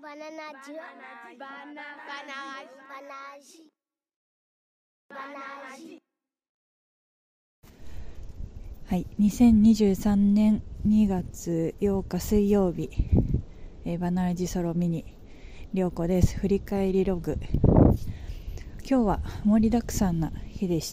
バナナジュバナナジバナジ。 はい、2023年2月8日水曜日、バナナジソロミニ涼子です。振り返りログ。今日は盛りだくさんな日でした。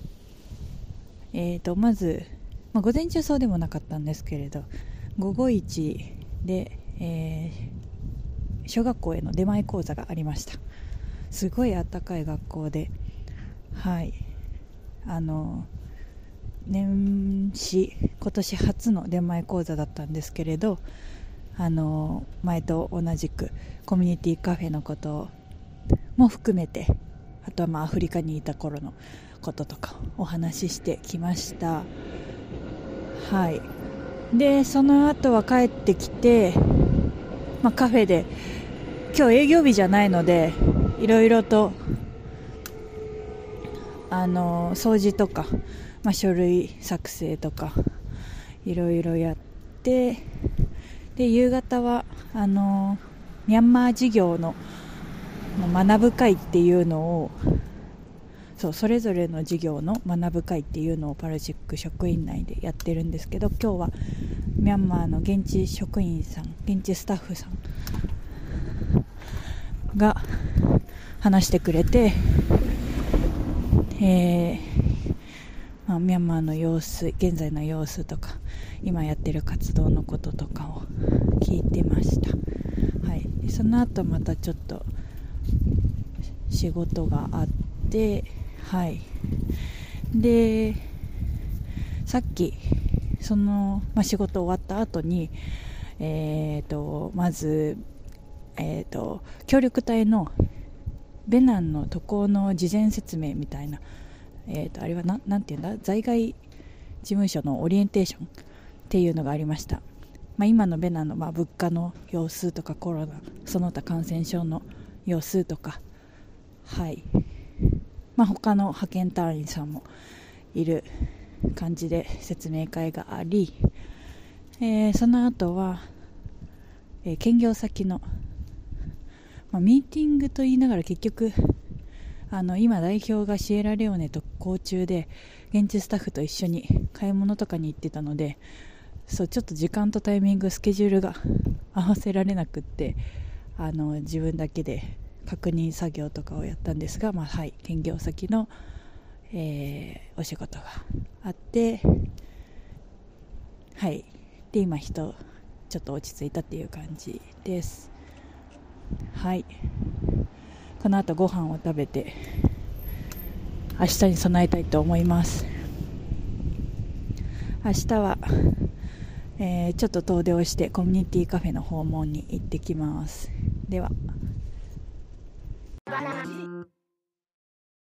まず、午前中そうでもなかったんですけれど、午後1で、小学校への出前講座がありました。すごい暖かい学校で、はい、年始今年初の出前講座だったんですけれど、前と同じくコミュニティカフェのことも含めて、あとはアフリカにいた頃のこととかお話ししてきました。はい。でその後は帰ってきて、カフェで今日営業日じゃないのでいろいろと掃除とか、書類作成とかいろいろやって、で夕方はミャンマー事業の学ぶ会っていうのを、それぞれの事業の学ぶ会っていうのをパラジック職員内でやってるんですけど、今日はミャンマーの現地職員さん、現地スタッフさんが話してくれて、ミャンマーの様子、現在の様子とか今やってる活動のこととかを聞いてました。はい、でその後またちょっと仕事があって、はい、でさっきその、仕事終わった後に、まず、協力隊のベナンの渡航の事前説明みたいな、あれはなんていうんだ、在外事務所のオリエンテーションっていうのがありました。今のベナンの物価の様子とか、コロナその他感染症の様子とか、はい、他の派遣隊員さんもいる感じで説明会があり、その後は、兼業先の、ミーティングと言いながら結局今代表がシエラレオネと行中で現地スタッフと一緒に買い物とかに行ってたので、ちょっと時間とタイミングスケジュールが合わせられなくって、自分だけで確認作業とかをやったんですが、はい、兼業先の、お仕事があって、はい、で今ちょっと落ち着いたっていう感じです。はい、この後ご飯を食べて明日に備えたいと思います。明日は、ちょっと遠出をしてコミュニティカフェの訪問に行ってきます。では。